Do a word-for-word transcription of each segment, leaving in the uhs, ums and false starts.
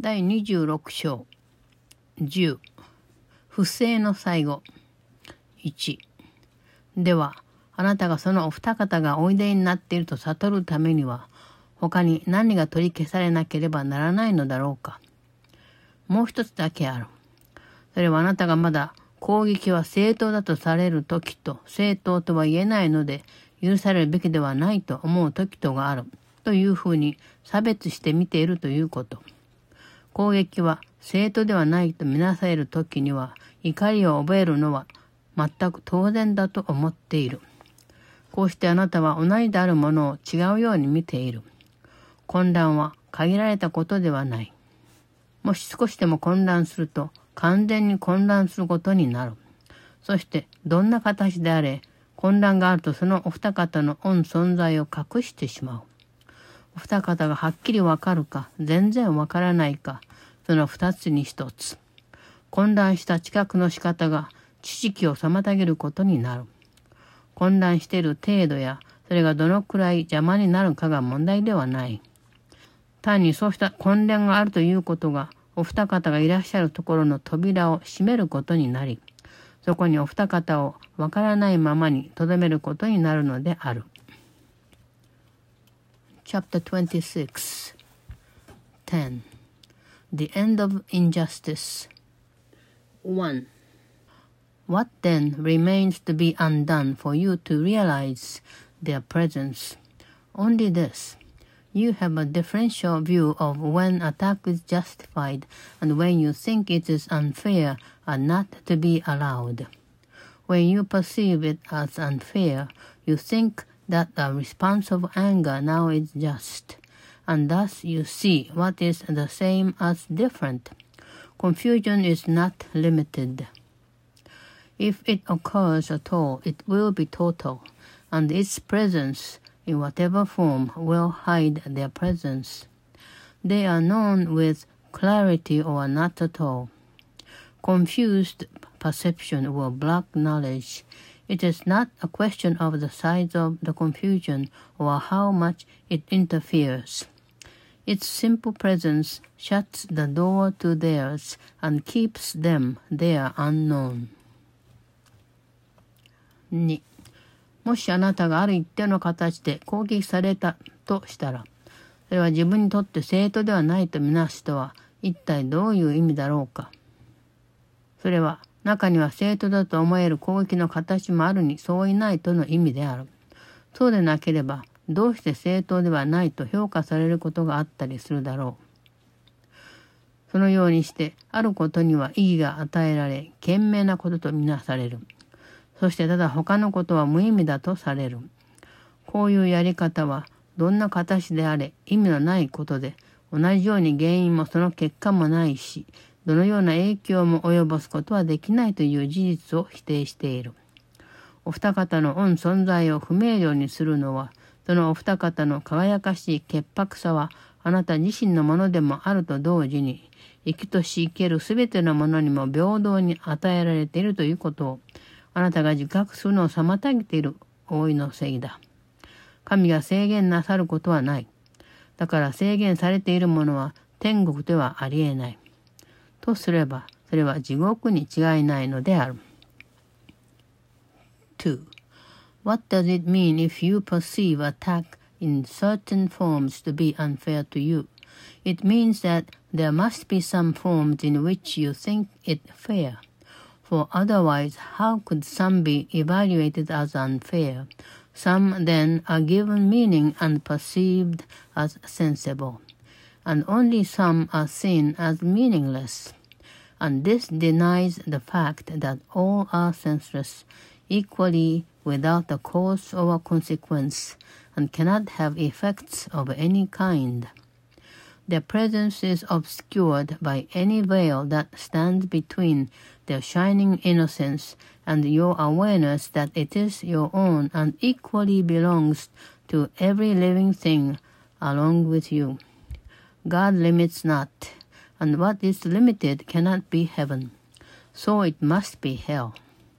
だいにじゅうろく章じゅう不正の最後いちではあなたがそのお二方がおいでになっていると悟るためには他に何が取り消されなければならないのだろうか。もう一つだけある。それはあなたがまだ攻撃は正当だとされる時と正当とは言えないので許されるべきではないと思う時とがあるというふうに差別して見ているということ。攻撃は正当ではないとみなされる時には怒りを覚えるのは全く当然だと思っている。こうしてあなたは同じであるものを違うように見ている。混乱は限られたことではない。もし少しでも混乱すると完全に混乱することになる。そしてどんな形であれ混乱があるとそのお二方の御存在を隠してしまう。お二方がはっきりわかるか全然わからないかその二つに一つ。混乱した知覚の仕方が知識を妨げることになる。混乱している程度やそれがどのくらい邪魔になるかが問題ではない。単にそうした混乱があるということがお二方がいらっしゃるところの扉を閉めることになり、そこにお二方をわからないままに留めることになるのである。Chapter twenty-six テン The End of Injustice ワン What then remains to be undone for you to realize their presence? Only this. You have a differential view of when attack is justified and when you think it is unfair and not to be allowed. When you perceive it as unfair, you think that a response of anger now is just, and thus you see what is the same as different. Confusion is not limited. If it occurs at all, it will be total, and its presence in whatever form will hide their presence. They are known with clarity or not at all. Confused perception will block knowledge. It is not a question of the size of the confusion or how much it interferes. Its simple presence shuts the door to theirs and keeps them there unknown. にもしあなたがある一定の形で攻撃されたとしたら、それは自分にとって正当ではないとみなすとは一体どういう意味だろうか。それは中には正当だと思える攻撃の形もあるにそういないとの意味である。そうでなければどうして正当ではないと評価されることがあったりするだろう。そのようにしてあることには意義が与えられ賢明なこととみなされる。そしてただ他のことは無意味だとされる。こういうやり方はどんな形であれ意味のないことで、同じように原因もその結果もないし、どのような影響も及ぼすことはできないという事実を否定している。お二方の御存在を不明瞭にするのは、そのお二方の輝かしい潔白さはあなた自身のものでもあると同時に、生きとし生けるすべてのものにも平等に与えられているということを、あなたが自覚するのを妨げている大いのせいだ。神が制限なさることはない。だから制限されているものは天国ではありえない。とすれば、それは地獄に違いないのである。two. What does it mean if you perceive attack in certain forms to be unfair to you? It means that there must be some forms in which you think it fair.For otherwise, how could some be evaluated as unfair? Some then are given meaning and perceived as sensible, and only some are seen as meaningless. And this denies the fact that all are senseless, equally without a cause or a consequence, and cannot have effects of any kind.Their presence is obscured by any veil that stands between their shining innocence and your awareness that it is your own and equally belongs to every living thing along with you. God limits not, and what is limited cannot be heaven, so it must be hell.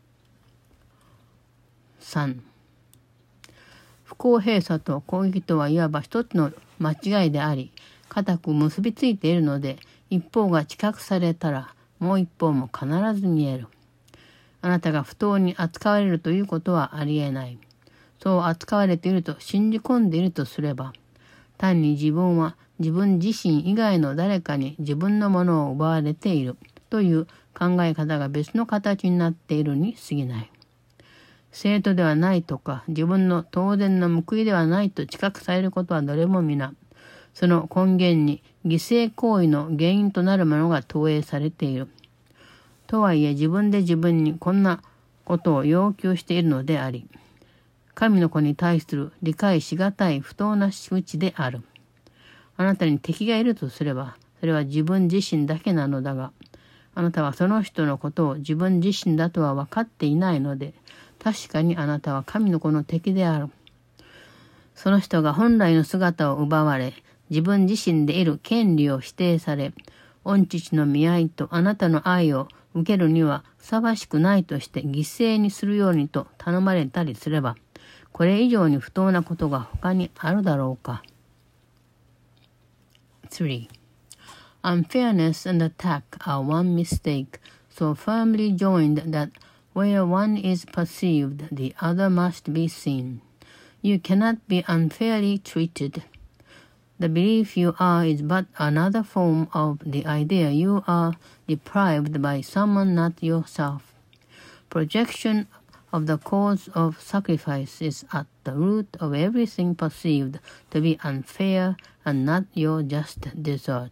さん. 不公平さと攻撃とはいわば一つの間違いであり、固く結びついているので、 一方が知覚されたら、もう一方も必ず見える。あなたが不当に扱われるということはありえない。そう扱われていると信じ込んでいるとすれば、単に自分は自分自身以外の誰かに自分のものを奪われているという考え方が別の形になっているに過ぎない。生徒ではないとか、自分の当然の報いではないと知覚されることはどれも皆、その根源に犠牲行為の原因となるものが投影されている。とはいえ自分で自分にこんなことを要求しているのであり、神の子に対する理解しがたい不当な仕打ちである。あなたに敵がいるとすれば、それは自分自身だけなのだが、あなたはその人のことを自分自身だとは分かっていないので、確かにあなたは神の子の敵である。その人が本来の姿を奪われ、自分自身でいる権利を否定され、御父の見合いとあなたの愛を受けるにはふさわしくないとして犠牲にするようにと頼まれたりすれば、これ以上に不当なことが他にあるだろうか。three. Unfairness and attack are one mistake, so firmly joined that where one is perceived, the other must be seen. You cannot be unfairly treated. The belief you are is but another form of the idea you are deprived by someone not yourself. Projection of the cause of sacrifice is at the root of everything perceived to be unfair and not your just desert.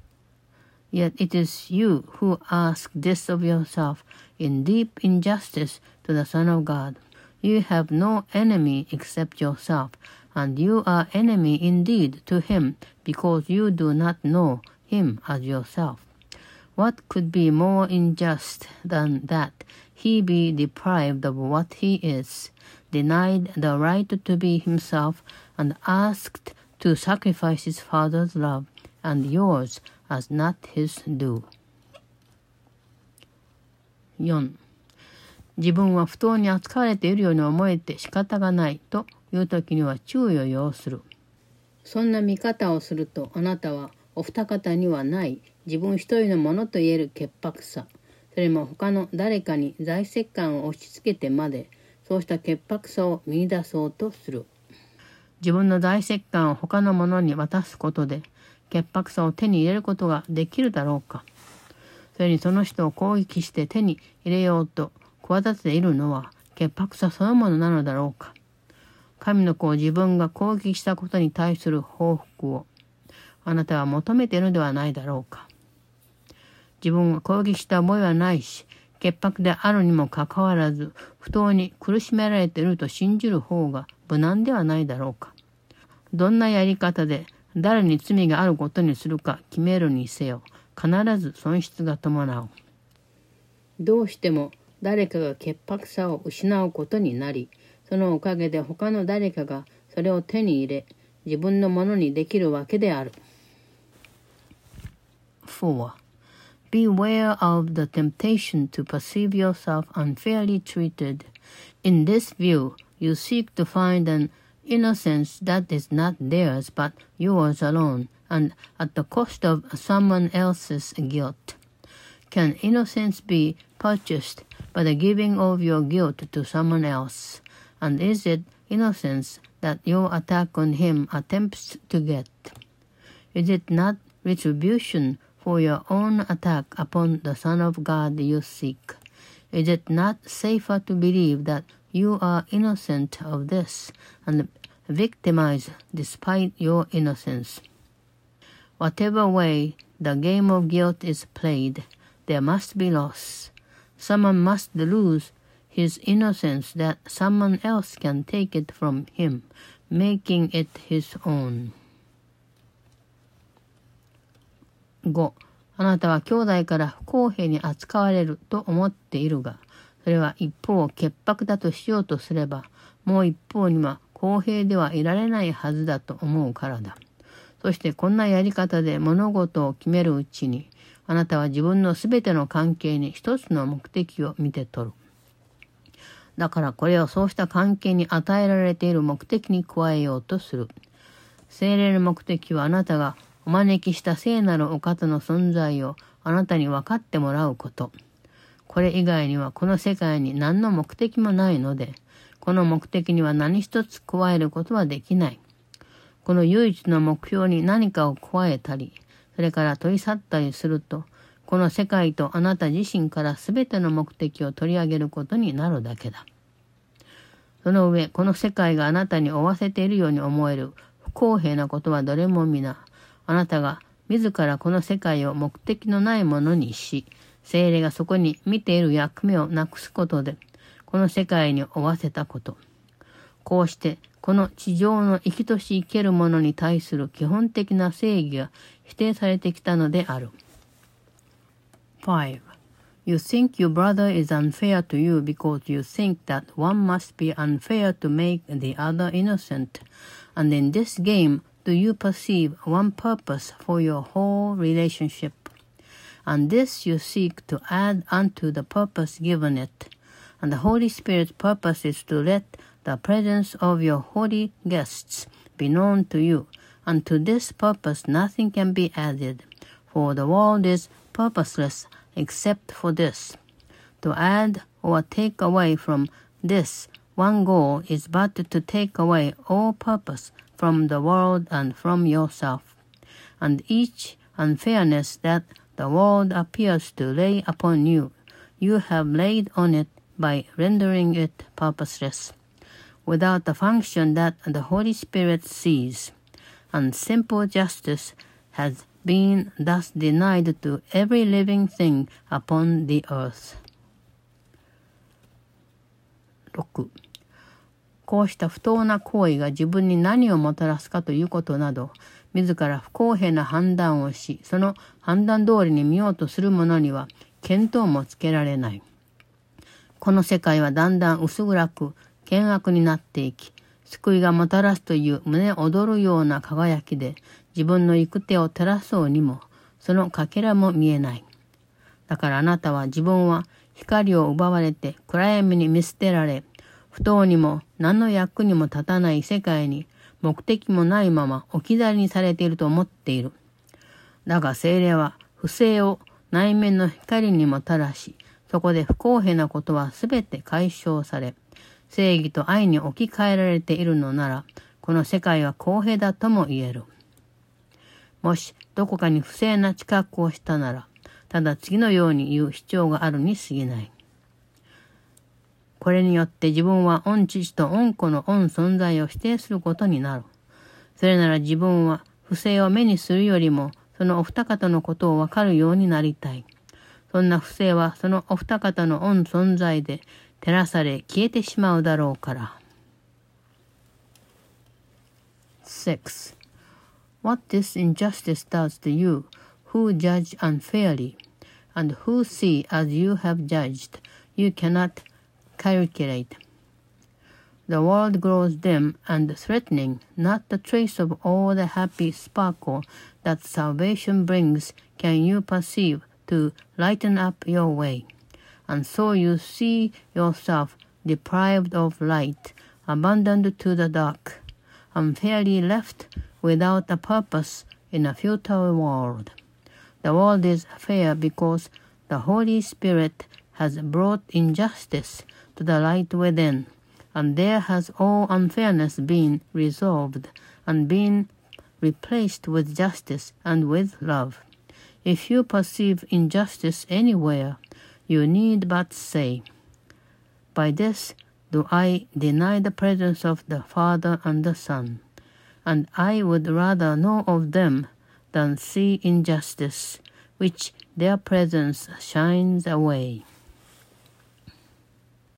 Yet it is you who ask this of yourself in deep injustice to the Son of God. You have no enemy except yourself, and you are enemy indeed to him because you do not know him as yourself. What could be more unjust than that he be deprived of what he is, denied the right to be himself, and asked to sacrifice his Father's love and yours as not his due. よん. 自分は不当に扱われているように思えて仕方がないという時には注意を要する。そんな見方をするとあなたはお二方にはない自分一人のものといえる潔白さ、それも他の誰かに財石感を押し付けてまでそうした潔白さを見出そうとする。自分の財石感を他の者に渡すことで潔白さを手に入れることができるだろうか。それにその人を攻撃して手に入れようと企てているのは潔白さそのものなのだろうか。神の子を自分が攻撃したことに対する報復をあなたは求めているのではないだろうか。自分が攻撃した覚えはないし、潔白であるにもかかわらず不当に苦しめられていると信じる方が無難ではないだろうか。どんなやり方で誰に罪があることにするか決めるにせよ、必ず損失が伴う。どうしても誰かが潔白さを失うことになり、そのおかげで他の誰かがそれを手に入れ、自分のものにできるわけである。four. Beware of the temptation to perceive yourself unfairly treated. In this view, you seek to find an innocence that is not theirs but yours alone, and at the cost of someone else's guilt. Can innocence be purchased by the giving of your guilt to someone else? And is it innocence that your attack on him attempts to get? Is it not retribution for your own attack upon the Son of God you seek? Is it not safer to believe that you are innocent of this and victimized despite your innocence? Whatever way the game of guilt is played, there must be loss. Someone must lose his innocence that someone else can take it from him, making it his own. ご. あなたは兄弟から不公平に扱われると思っているが、それは一方を潔白だとしようとすれば、もう一方には公平ではいられないはずだと思うからだ。そしてこんなやり方で物事を決めるうちに、あなたは自分のすべての関係に一つの目的を見て取る。だからこれをそうした関係に与えられている目的に加えようとする。聖霊の目的はあなたがお招きした聖なるお方の存在をあなたに分かってもらうこと。これ以外にはこの世界に何の目的もないので、この目的には何一つ加えることはできない。この唯一の目標に何かを加えたり、それから取り去ったりすると、この世界とあなた自身からすべての目的を取り上げることになるだけだ。その上、この世界があなたに負わせているように思える不公平なことはどれも皆、あなたが自らこの世界を目的のないものにし、聖霊がそこに見ている役目をなくすことで、この世界に負わせたこと。こうして、この地上の生きとし生けるものに対する基本的な正義が否定されてきたのである。five. You think your brother is unfair to you because you think that one must be unfair to make the other innocent. And in this game, do you perceive one purpose for your whole relationship? And this you seek to add unto the purpose given it. And the Holy Spirit's purpose is to let the presence of your holy guests be known to you. And to this purpose nothing can be added, for the world is purposeless except for this. To add or take away from this one goal is but to take away all purpose from the world and from yourself. And each unfairness that the world appears to lay upon you, you have laid on it by rendering it purposeless, without the function that the Holy Spirit sees. And simple justice has been thus denied to every living thing upon the earth. ろく. こうした不当な行為が自分に何をもたらすかということなど、自ら不公平な判断をし、その判断通りに見ようとする者には見当もつけられない。この世界はだんだん薄暗く険悪になっていき、救いがもたらすという胸躍るような輝きで自分の行く手を照らそうにも、そのかけらも見えない。だからあなたは自分は光を奪われて暗闇に見捨てられ、不当にも何の役にも立たない世界に目的もないまま置き去りにされていると思っている。だが聖霊は不正を内面の光にもたらし、そこで不公平なことはすべて解消され、正義と愛に置き換えられているのなら、この世界は公平だとも言える。もしどこかに不正な知覚をしたなら、ただ次のように言う必要があるに過ぎない。これによって自分は御父と御子の御存在を否定することになる。それなら自分は不正を目にするよりも、そのお二方のことをわかるようになりたい。そんな不正はそのお二方の御存在で照らされ消えてしまうだろうから。six. What this injustice does to you, who judge unfairly, and who see as you have judged, you cannot calculate. The world grows dim and threatening, not a trace of all the happy sparkle that salvation brings can you perceive to lighten up your way. And so you see yourself deprived of light, abandoned to the dark, unfairly left without a purpose in a futile world. The world is fair because the Holy Spirit has brought injustice to the light within, and there has all unfairness been resolved and been replaced with justice and with love. If you perceive injustice anywhere, you need but say, "By this do I deny the presence of the Father and the Son, and I would rather know of them than see injustice, which their presence shines away."